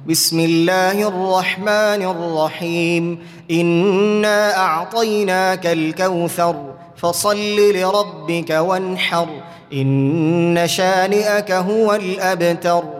بسم الله الرحمن الرحيم إنا أعطيناك الكوثر فصل لربك وانحر إن شانئك هو الأبتر